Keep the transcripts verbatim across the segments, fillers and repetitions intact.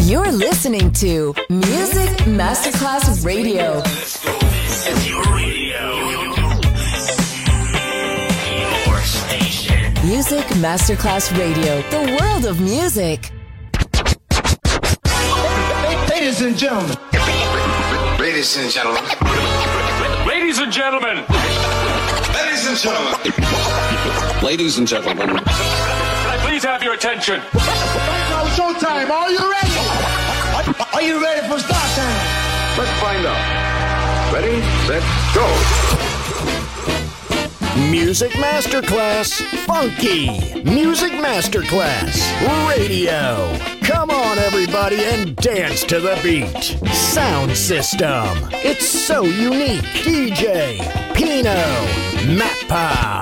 You're listening to Music Masterclass Radio. Let's go. It's your radio. Your station. Music Masterclass Radio. The world of music. Ladies and gentlemen. Ladies and gentlemen. Ladies and gentlemen. Ladies and gentlemen. Ladies and gentlemen. Can I please have your attention? Now showtime. Are you ready? Are you ready for start time? Let's find out. Ready, set, go. Music Masterclass Funky. Music Masterclass Radio. Come on, everybody, and dance to the beat. Sound system. It's so unique. D J Pino Mappa.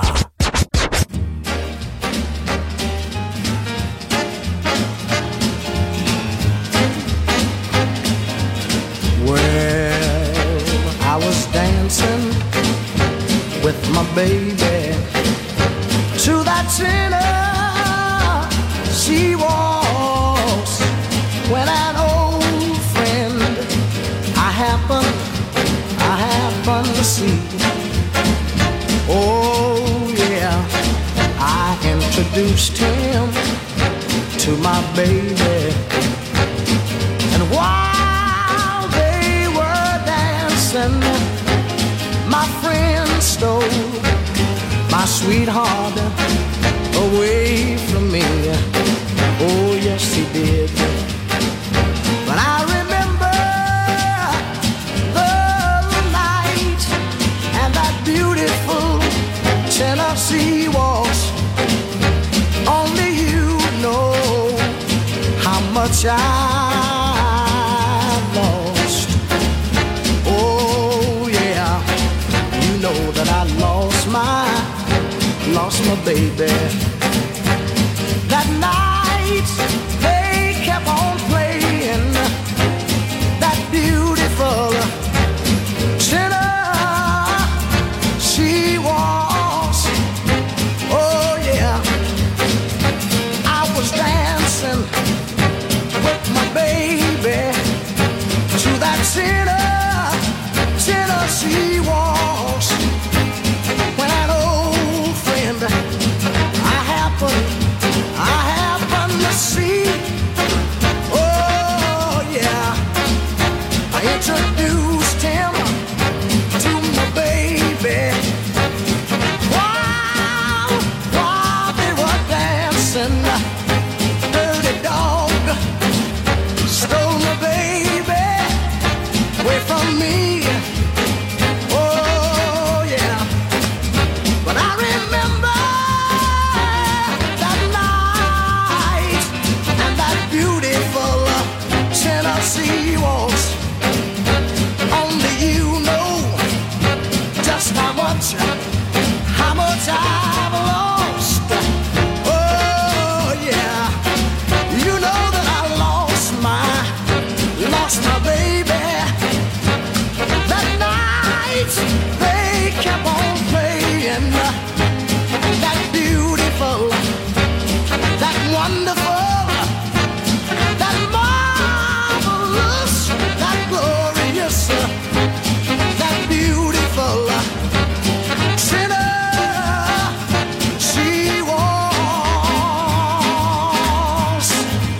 Well, I was dancing with my baby to that Tennessee waltz when an old friend I happened, I happened to see. Oh yeah, I introduced him to my baby, and while they were dancing, my friend stole my sweetheart away from me. Oh yes he did. But I remember the night and that beautiful Tennessee waltz. Only you know how much I lost. Oh yeah, you know that I lost my, lost my baby. That night they kept on playing that beautiful Tennessee waltz. Oh yeah, I was dancing with my baby to that Tennessee waltz when an old friend I happened, I happened to see. Oh yeah, I introduced him to my baby while, while they were dancing. Dirty dog stole my baby away from me. Oh yeah, but I remember that night and that beautiful Tennessee waltz. Only you know just how much, how much I've lost. Oh yeah, you know that I lost my, lost my baby. That night they kept on playing that beautiful, that wonderful, that marvelous, that glorious, that beautiful Tennessee waltz.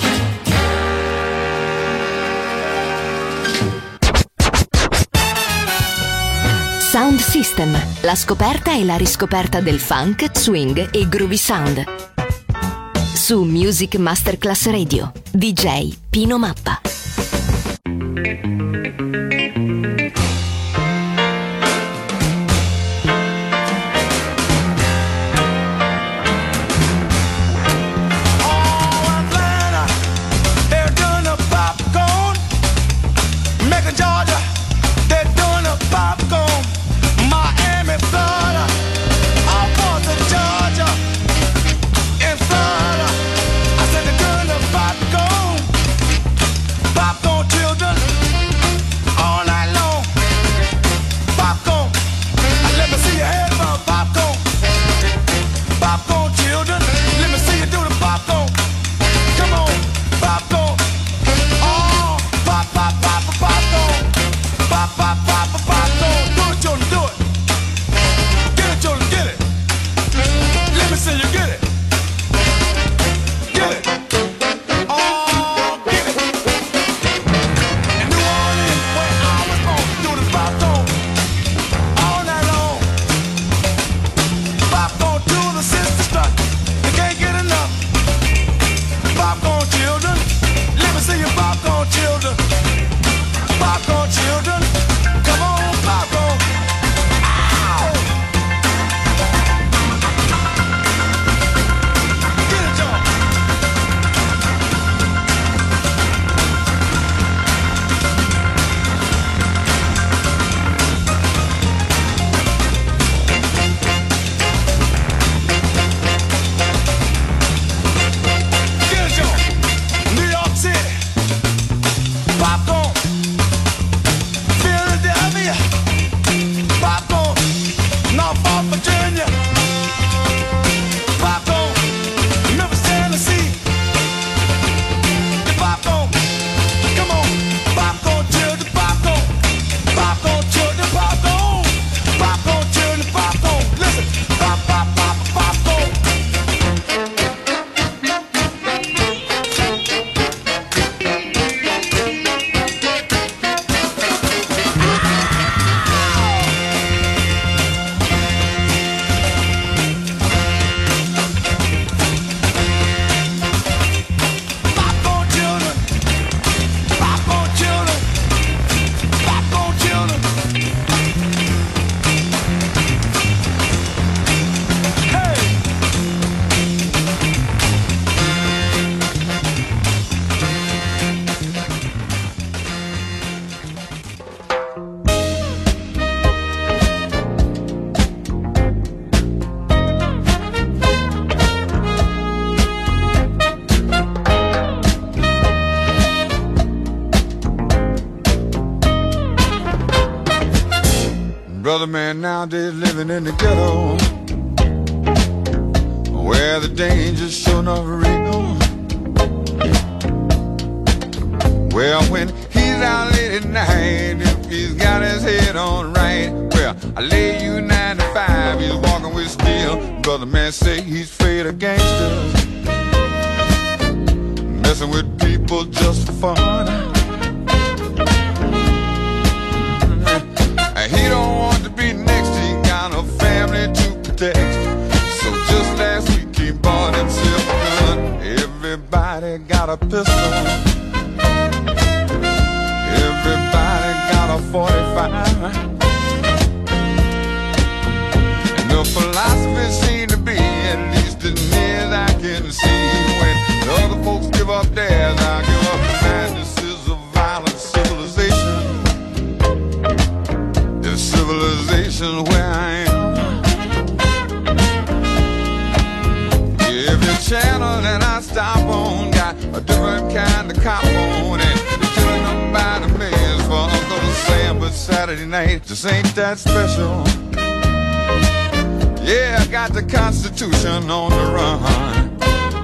Sound System, la scoperta e la riscoperta del funk, swing e groovy sound. Su Music Masterclass Radio, D J Pino Mappa. They're doing the popcorn. Macon, Georgia, they're doing the popcorn. Miami, Florida, all parts of Georgia, in Florida. I said they're doing the popcorn. Popcorn children. Another man nowadays living in the ghetto, where the danger's sure enough real. Well, when he's out late at night, if he's got his head on right, well, I lay you ninety-five, he's walking with steel. Brother man say he's afraid of gangsters, messing with people just for fun. He don't want to be next, he got a family to protect. So just last week he bought himself a gun. Everybody got a pistol, everybody got a forty-five. And the philosophy seemed to be, at least as near as I can see, when the other folks give up theirs, I give up mine. This is a violent civilization, civilization where I am. Every channel that I stop on got a different kind of cop on, and they're killing them by the millions for Uncle Sam. But Saturday night just ain't that special. Yeah, I got the Constitution on the run,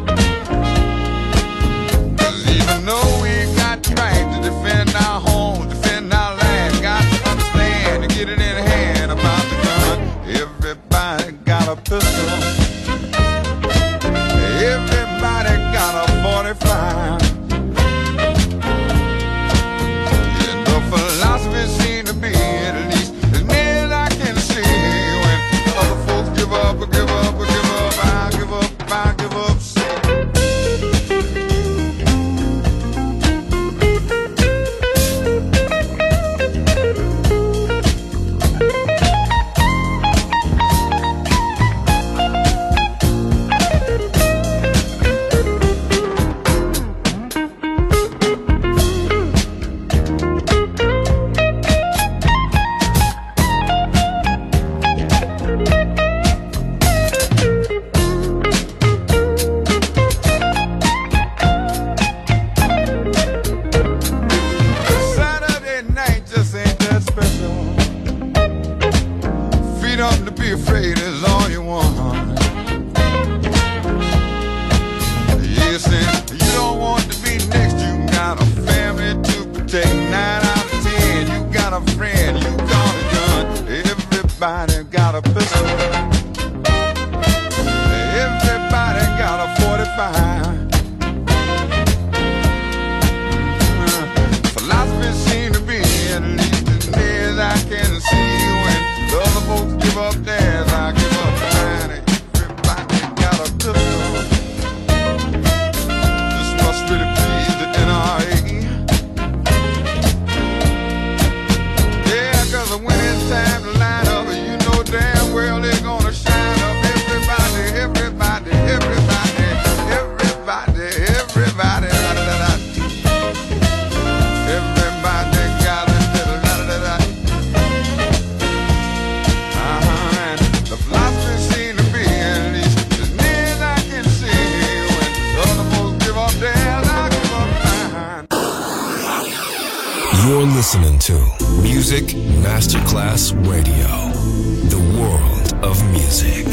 'cause even though we got the right to defend our home, defend our land, got to understand to get it in hand about the gun. Everybody got a pistol, everybody got a forty-five. And the philosophy seems to be, at least as near as I can see, when other folks give up, or give up, or give up, I'll give up, I'll give up. You're listening to Music Masterclass Radio, the world of music.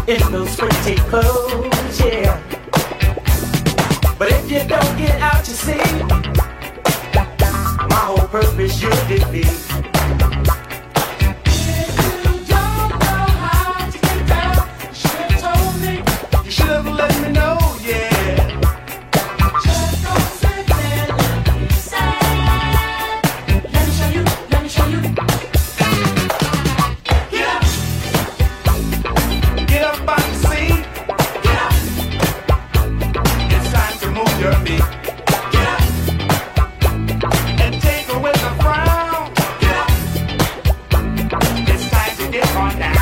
in those pretty clothes, yeah. But if you don't get out, you see, my whole purpose should defeat. Let me know, yeah. Just don't sit there, let me sad. Let me show you, let me show you. Get up, get up on the seat. Get up, it's time to move your feet. Get up, and take away the frown. Get up, it's time to get on down.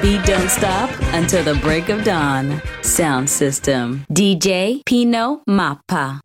beat don't stop until the break of dawn. Sound system. D J Pino Mappa.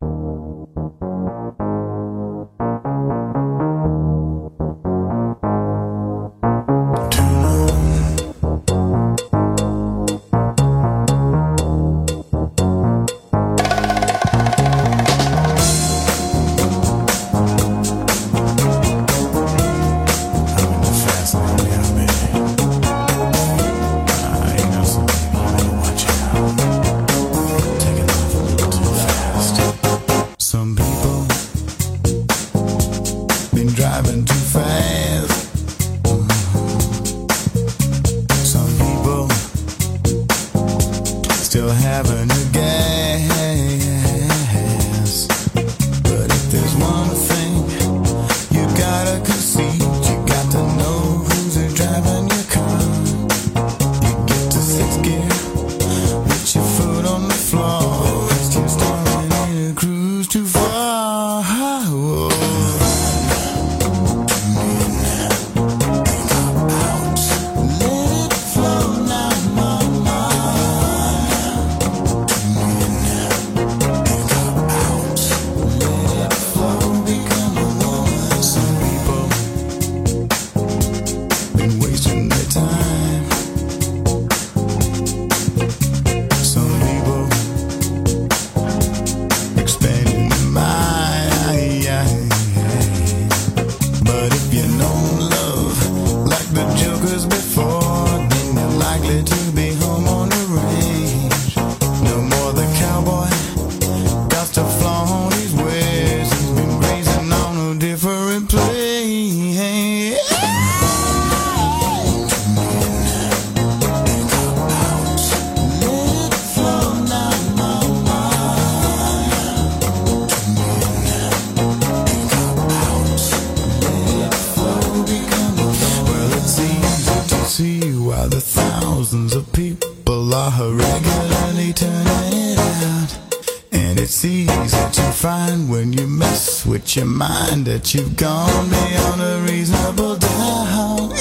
Your mind that you've gone beyond a reasonable doubt.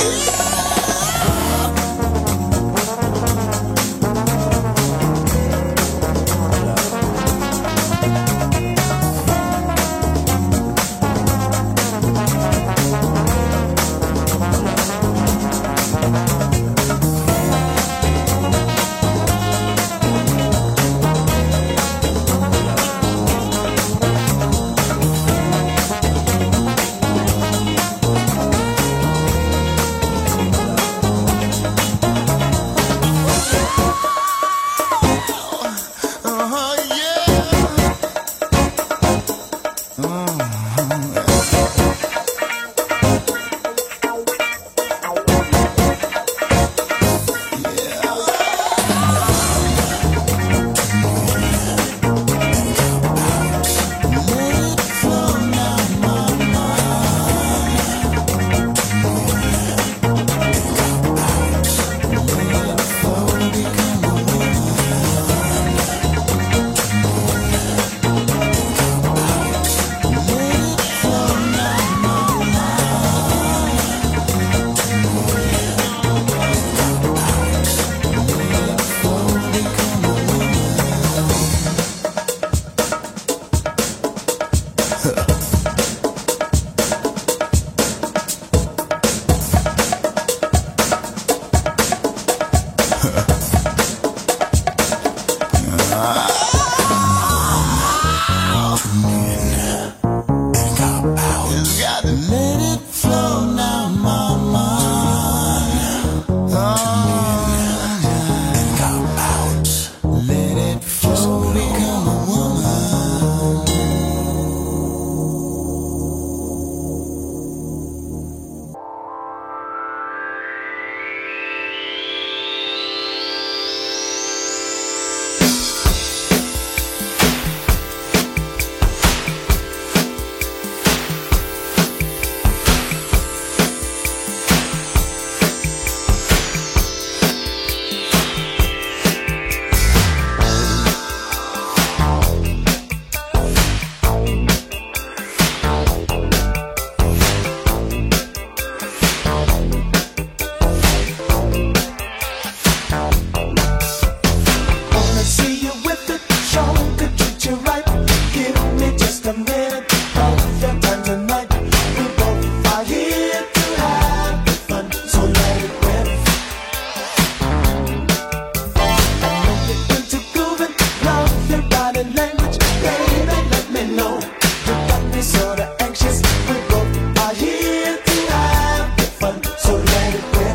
know you got me sorta anxious. We both are here to have the fun, so let it rip.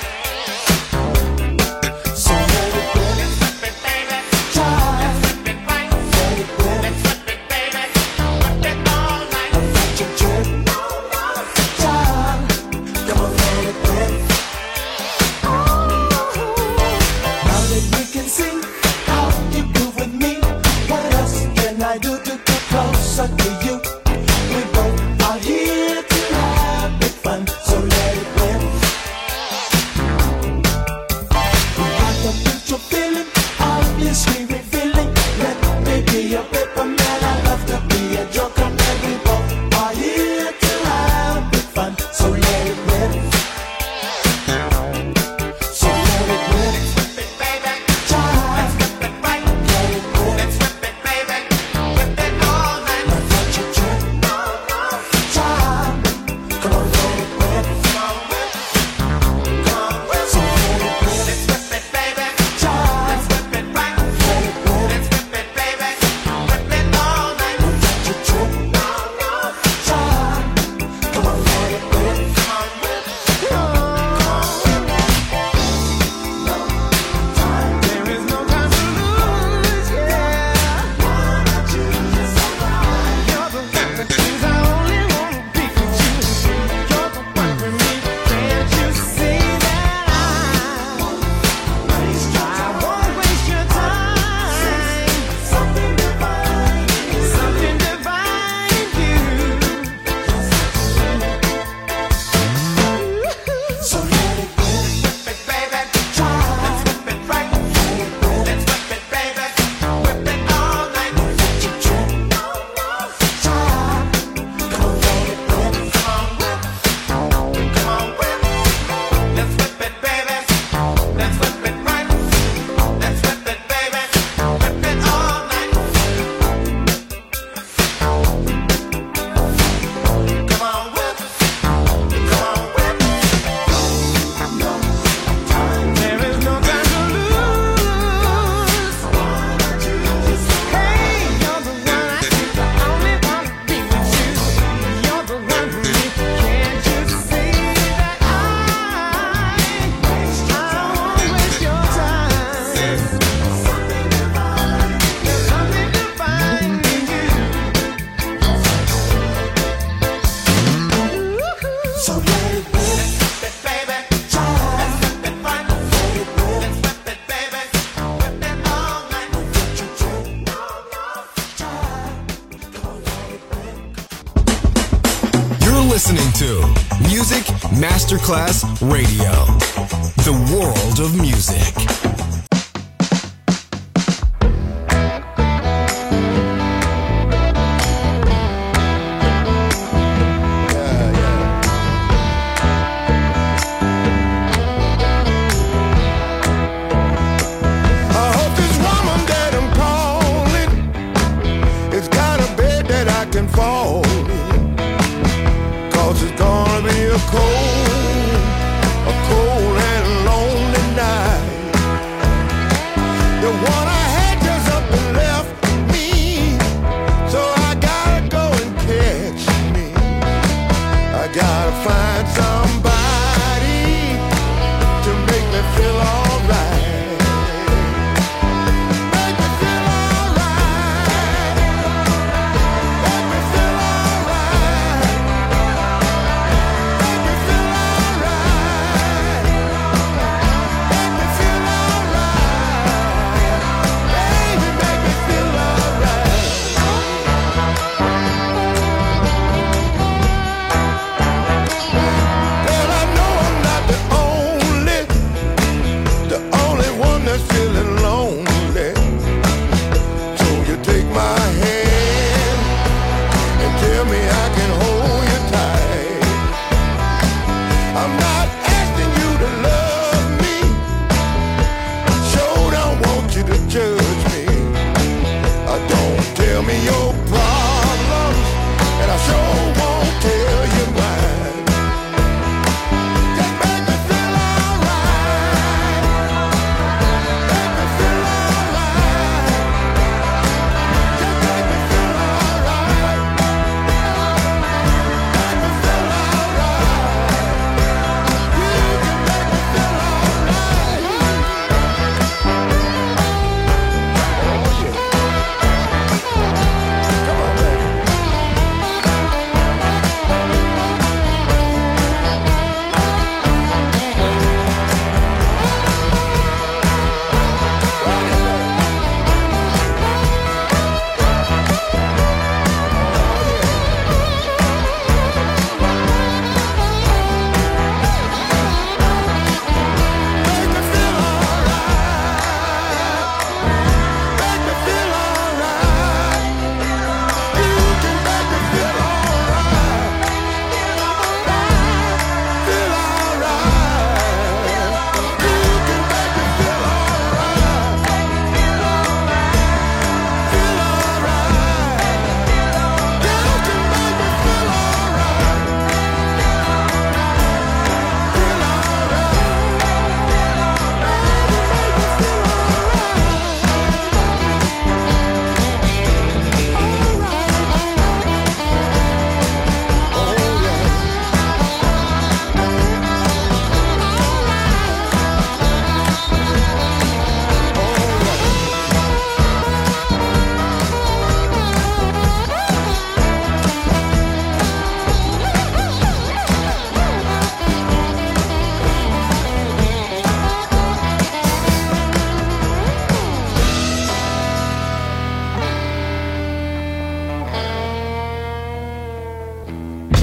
So let it rip. Child, let it rip. I'll let you trip. Child, come on, let it rip. Now that we can sing, how you do with me? What else can I do to get closer to you? We both are here to have big fun, so let it rip. We got the picture feeling, obviously revealing. Let me be a paper man, I love to be a joker man. We both are here to have big fun, so let it rip. So let it rip. Child, let it rip. Now let you trip. Child, come on, let it rip. So let it rip. Child, let it rip. Now let you trip. Child, come on, let it rip. There is no time to lose, yeah. You're the one that means I only wanna be with you. You're the one for me. Can't you see that I I won't waste your time. Something divine, something divine in you. So let it rip. Child, let it rip. Now let you trip. Child, come on, let it rip. There is no time to lose. Hey, you're the one I think I only wanna be with you. You're the one for me. Can't you see that I I won't waste your time? There's something divine in you. So let it rip. Child, let it rip. You're listening to Music Masterclass Radio, the world of music. I hope this woman that I'm calling has got a bed that I can fall in. 'Cause it's gonna be a cold, a cold and lonely night. The one I had just up and left me, so I gotta go and catch me. I gotta find somebody to make me feel alright. Make me feel alright. Make me feel alright.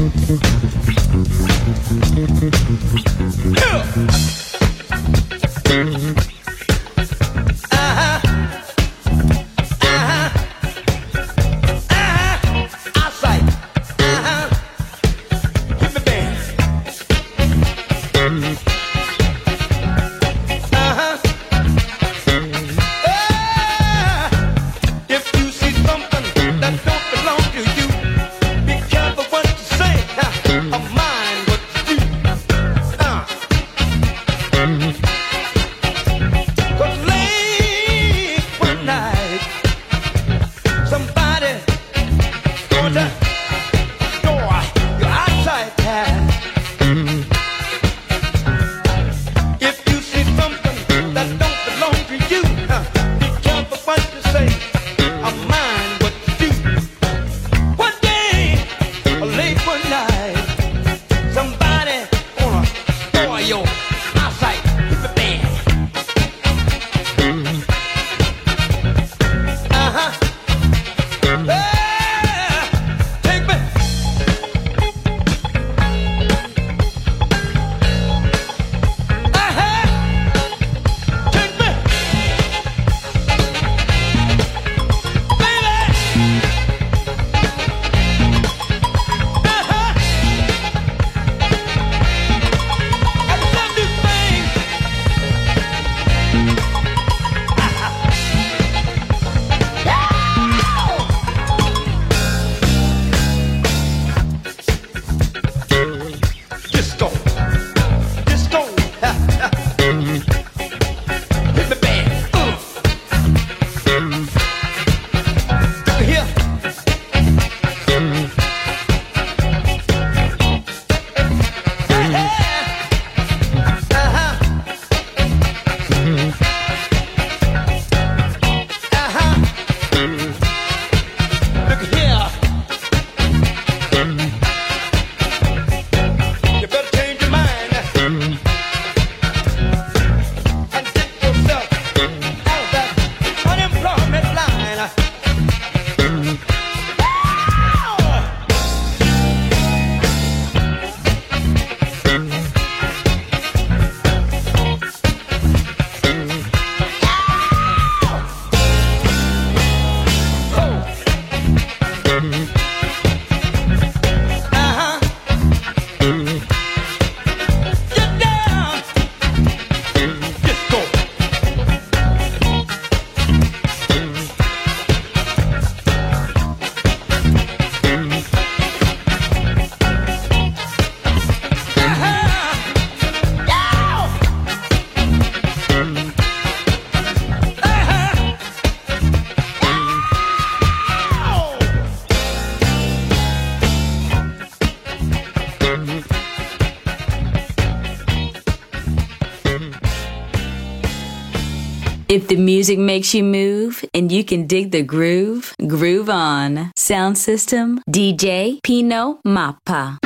If the music makes you move and you can dig the groove, groove on. Sound system, D J Pino Mappa.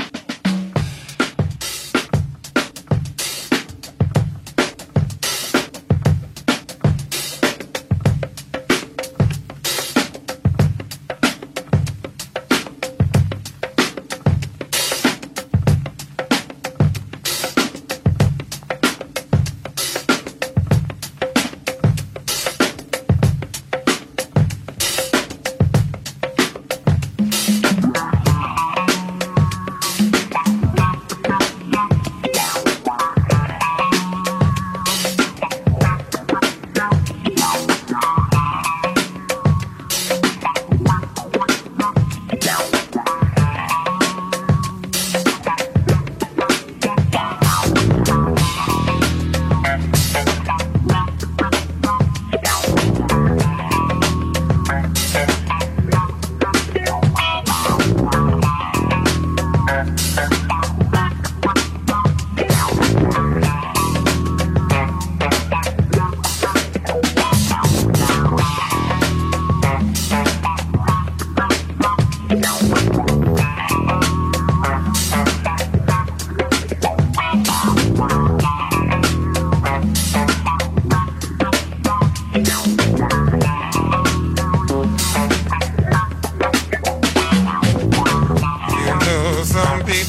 Some people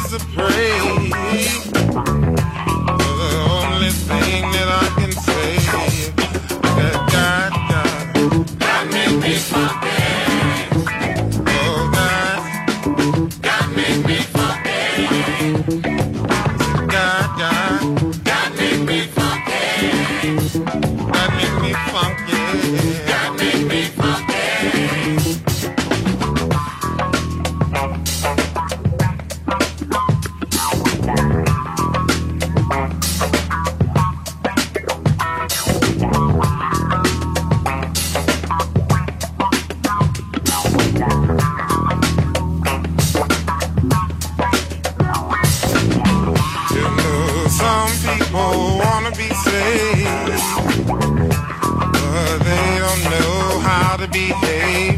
is to pray. The only thing that I can say that God, God, God made me funky. Oh God, God made me funky. God, God, God made me funky. God made me funky. God made me funky. Behave.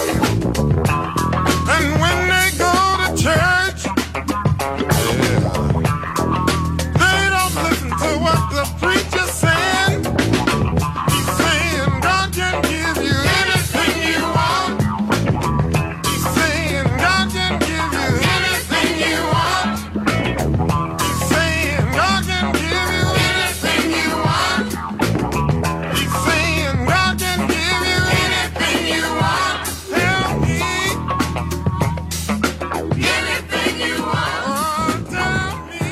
And when they go to church, yeah, they don't listen to what the preacher's saying. He's saying God can give you anything you want. He's saying God can give you anything you want. He's saying God can give you anything you want. He's saying God can give you you want, tell me anything you want, tell me.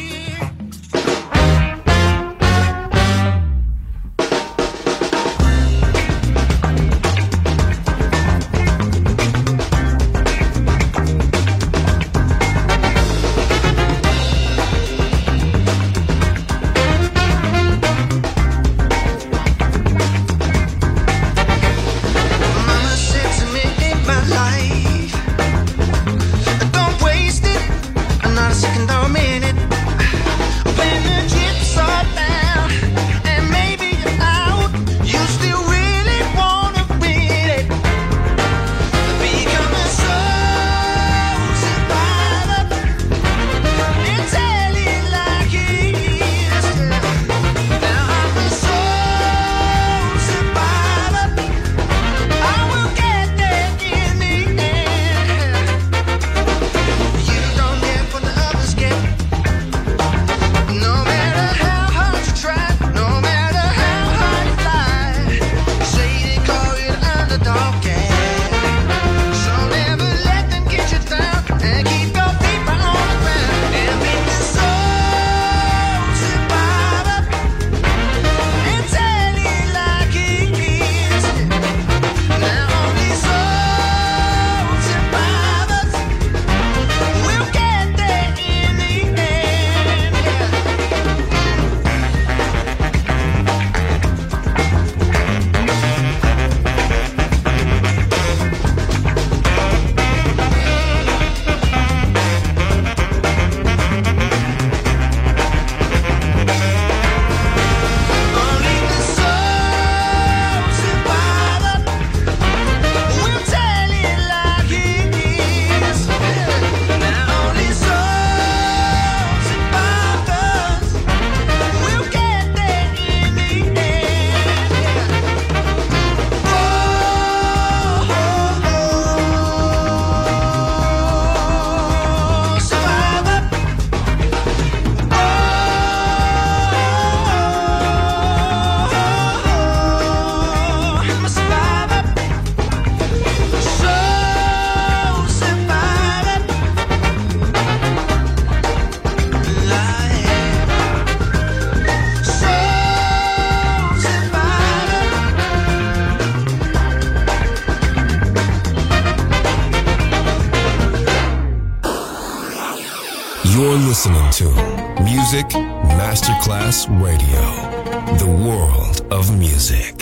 You're listening to Music Masterclass Radio, the world of music.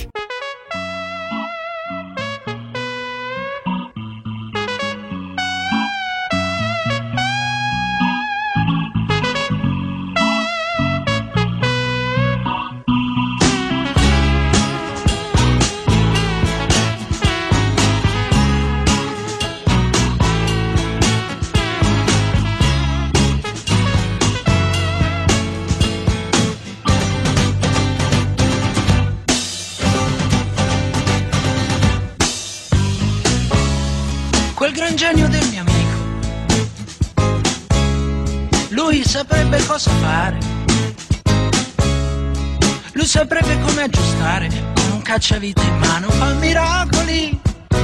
Lui saprebbe cosa fare, lui saprebbe come aggiustare, con un cacciavite in mano fa miracoli.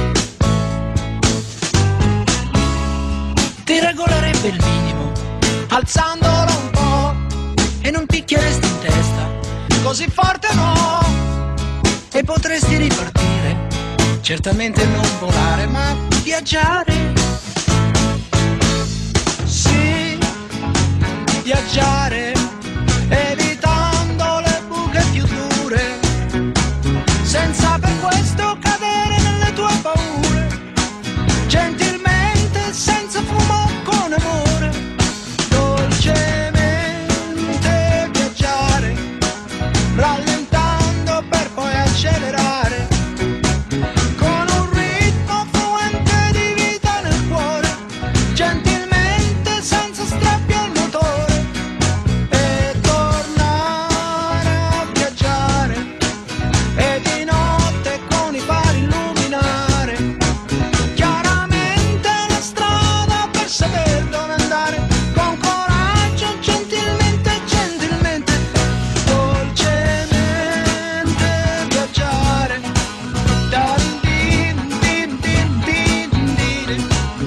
Ti regolerebbe il minimo, alzandolo un po', e non picchieresti in testa, così forte no, e potresti ripartire, certamente non volare, ma viaggiare. Sì, viaggiare, evitando le buche più dure, senza per questo cadere nelle tue paure, gentilmente, senza fumo, con amore, dolcemente viaggiare, rallentando per poi accelerare, con un ritmo fluente di vita nel cuore, gentilmente, senza strappi al motore, e tornare a viaggiare, e di notte con i fari illuminare chiaramente la strada per saper dove andare, con coraggio, gentilmente, gentilmente, dolcemente viaggiare. Darin din din din din din.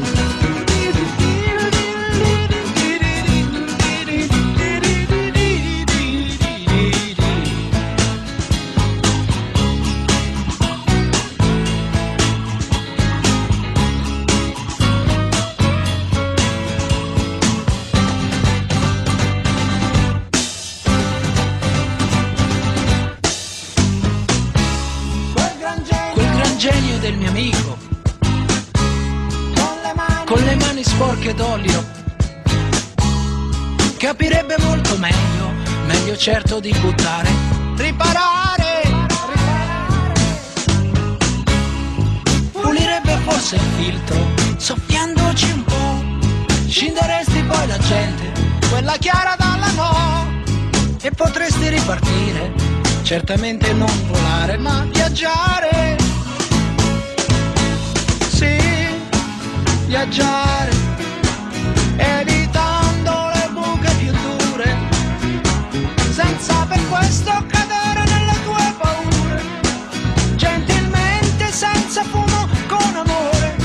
Quel gran genio del mio amico, con le mani sporche d'olio, capirebbe molto meglio, meglio certo di buttare, riparare, pulirebbe forse il filtro, soffiandoci un po', scinderesti poi la gente, quella chiara dalla no, e potresti ripartire, certamente non volare, ma viaggiare. Sì, viaggiare, evitando le buche più dure, senza per questo cadere nelle tue paure, gentilmente, senza fumo, con amore,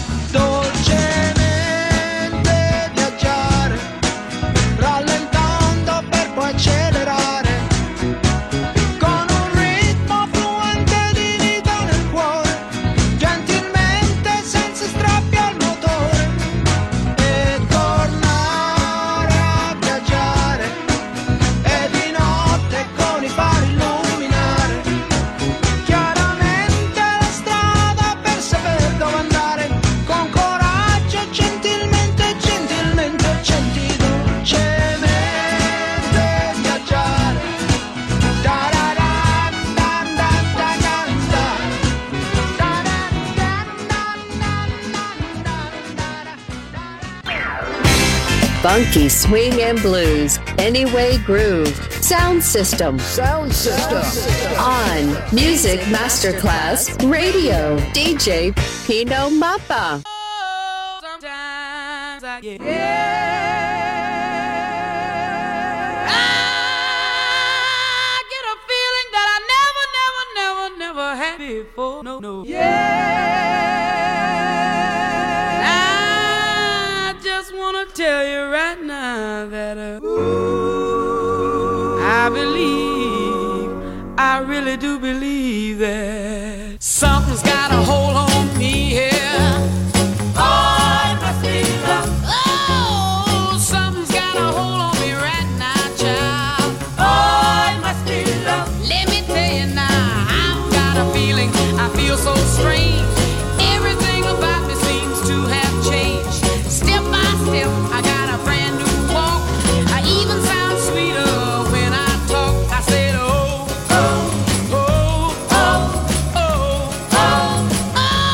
dolcemente viaggiare, rallentando per poi accelerare, con un ritmo fluente di vita nel cuore, gentilmente, senza strappi al motore, e tornare a viaggiare, e di notte con i fari illuminare chiaramente la strada per saper dove andare, con coraggio, gentilmente, gentilmente, genti, dolcemente viaggiare. Da-da-da, da-da-da-da-da. Funky swing and blues, Anyway Groove, Sound System, Sound System, on Music Masterclass Radio, D J Pino Mappa. Sometimes I get I get a feeling that I never, never, never, never had before. No, no. I just wanna tell you right now that uh, I believe, I really do believe that something's got a hold on me here. Oh, it must be love. Oh, something's got a hold on me right now, child. Oh, it must be love. Let me tell you now, I've got a feeling, I feel so strange. Everything about me seems to have changed. Step by step, I got a brand new walk. I even sound sweeter when I talk. I said, oh, oh, oh, oh, oh, oh, oh.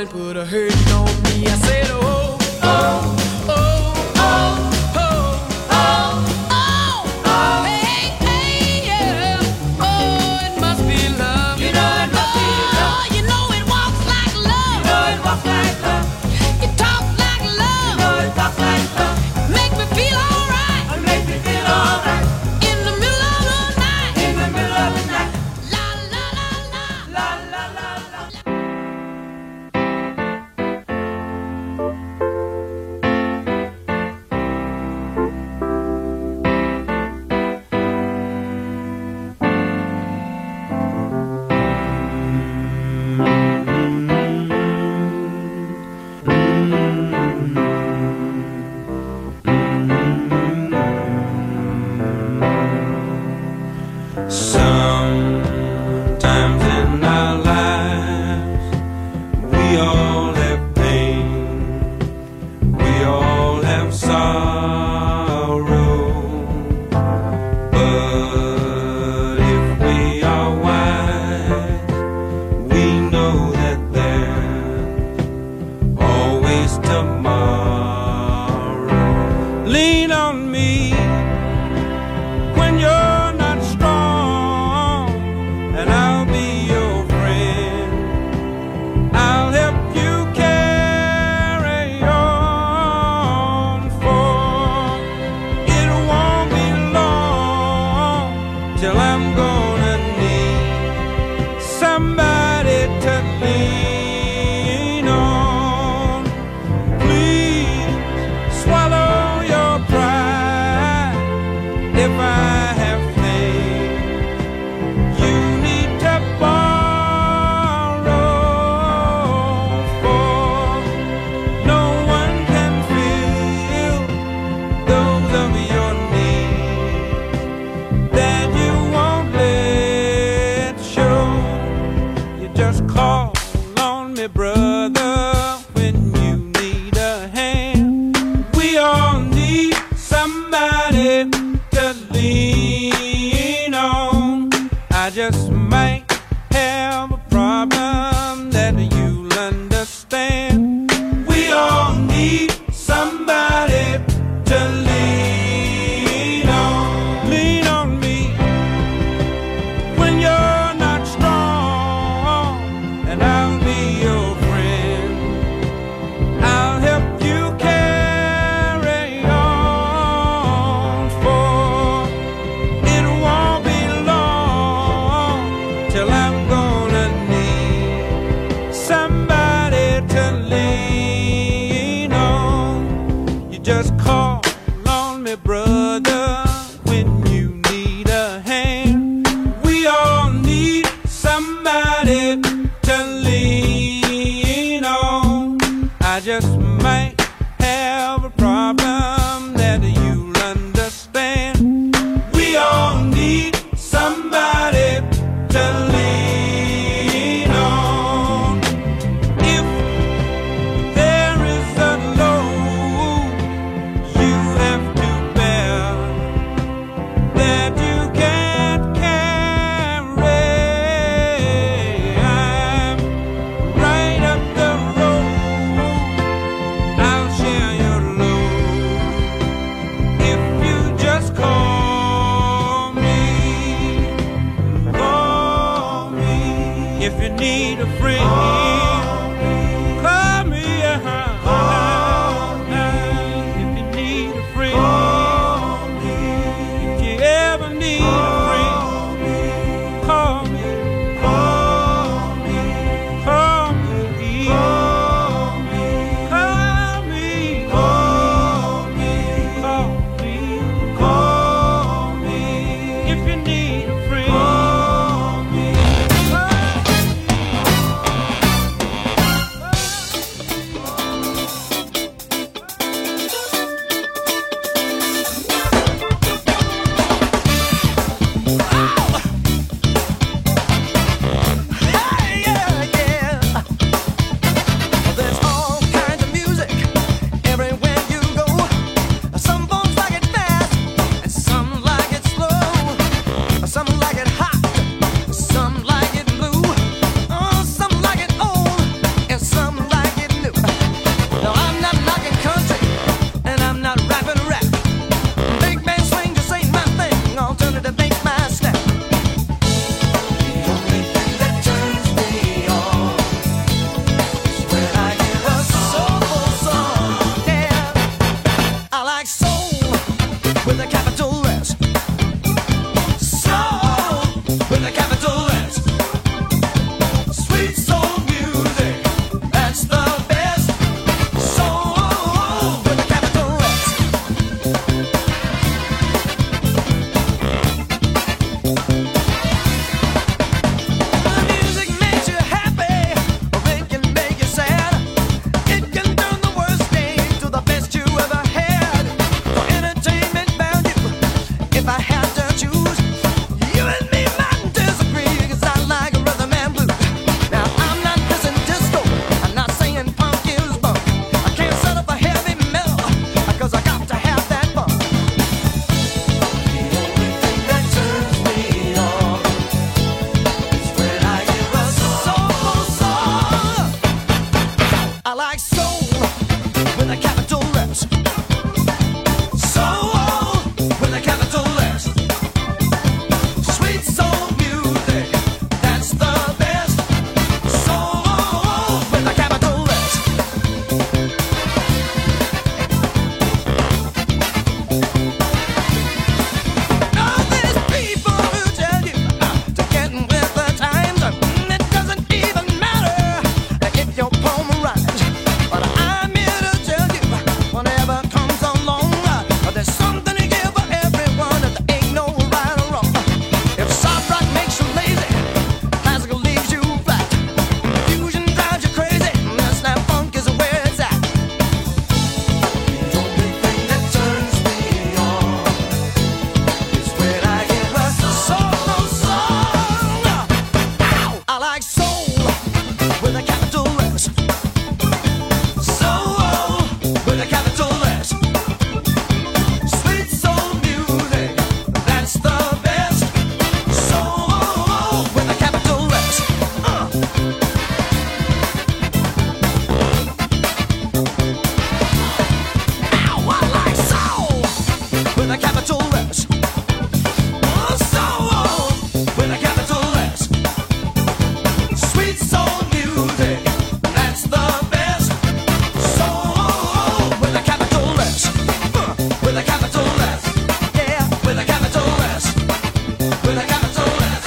and put a hurting on me. I said, oh, oh, oh, oh, oh, oh, oh, oh, hey, hey, yeah. Oh, it must be love. You know it must be love. You know it walks like love. You know it walks like love. It talks like love. You know it talks like love. Make me feel alright. Make me feel alright. In the middle of the night. In the middle of the night. La la la la. La la la la. Sometimes in our lives we all have pain, we all have sorrow, but if we are wise, we know that there's always tomorrow. Lean on me when you're not strong, and I'll be your friend. I'll help you carry on, for it won't be long till I'm gonna need somebody to lean on. Please swallow your pride if I have things you need to borrow, for no one can fill those of your needs that you won't let show. You just call on me, brother, when you need a hand. We all need somebody to lean on. I just might have a problem that you'll understand. We all need somebody to lean on. Lean on me when you're not strong, and I'll be your friend. I'll help you carry on, for it won't be long till I'm gonna need somebody to lean on. You just call on me, brother, when you need a hand. We all need somebody to lean on. I just might have a problem that you'll understand. We all need somebody to lean on. If there is a load you have to bear that you can't carry, I'm right up the road. I'll share your load if you just call me. Call me if you need a friend. Call me, uh-huh. If you need a friend. If you ever need a friend, call me. Call me. Call me. Call me. Call me. Call me. Call me. Call me. If you need a friend. Call me. I like soul with a capital S. Soul with a capital S. Sweet soul music, that's the best. Soul with a capital S. Uh. Ow, I like soul with a capital S. Oh, soul with a capital S. Sweet soul music, that's the best. Soul with a capital S. Uh, with a capital S. Yeah, with a capital S. With a capital S.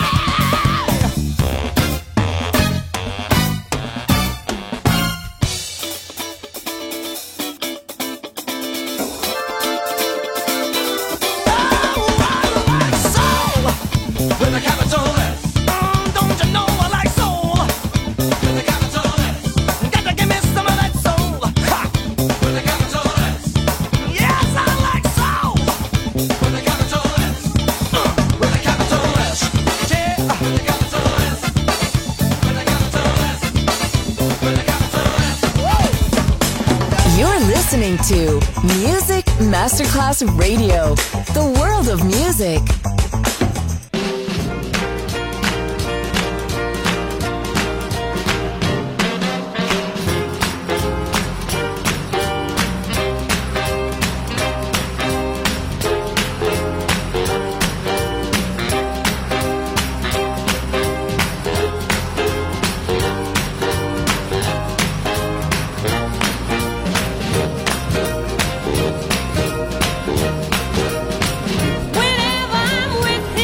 Soul with a capital S. Mm, don't you know I like soul with a capital S? Got to give me some of that soul. Ha! With a capital S. Yes, I like soul with a capital S. Uh, with a capital S. Yeah, with a capital S. With a capital S. With a capital S. Woo! You're listening to Music Masterclass Radio, the world of music. Whenever I'm with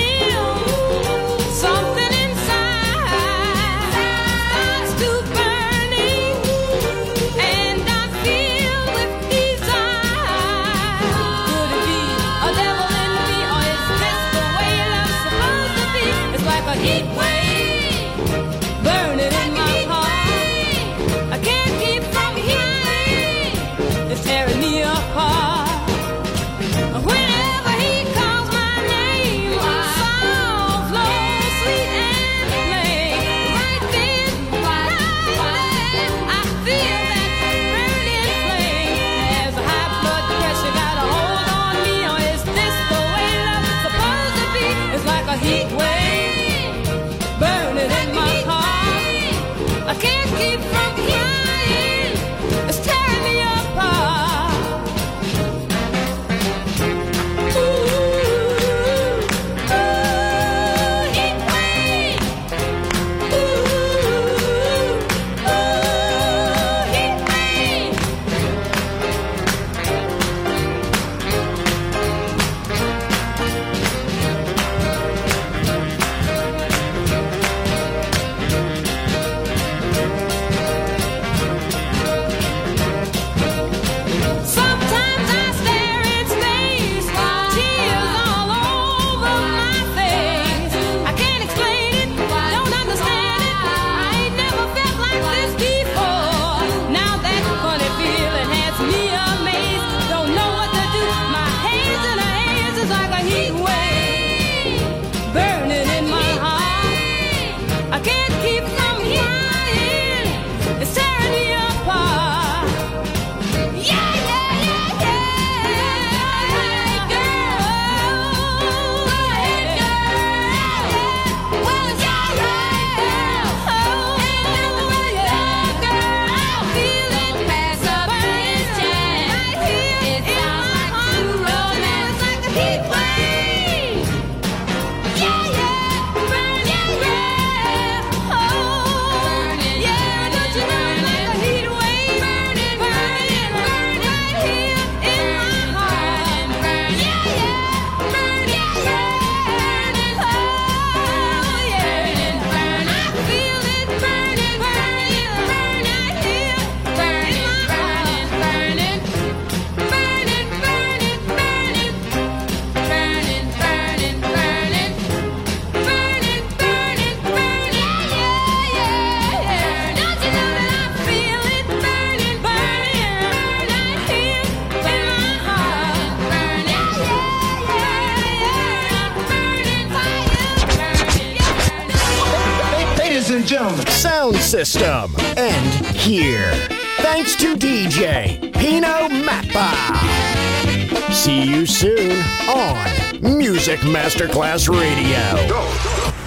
ladies and gentlemen. Sound system. And here. Thanks to D J Pino Mappa. See you soon on Music Masterclass Radio. Go.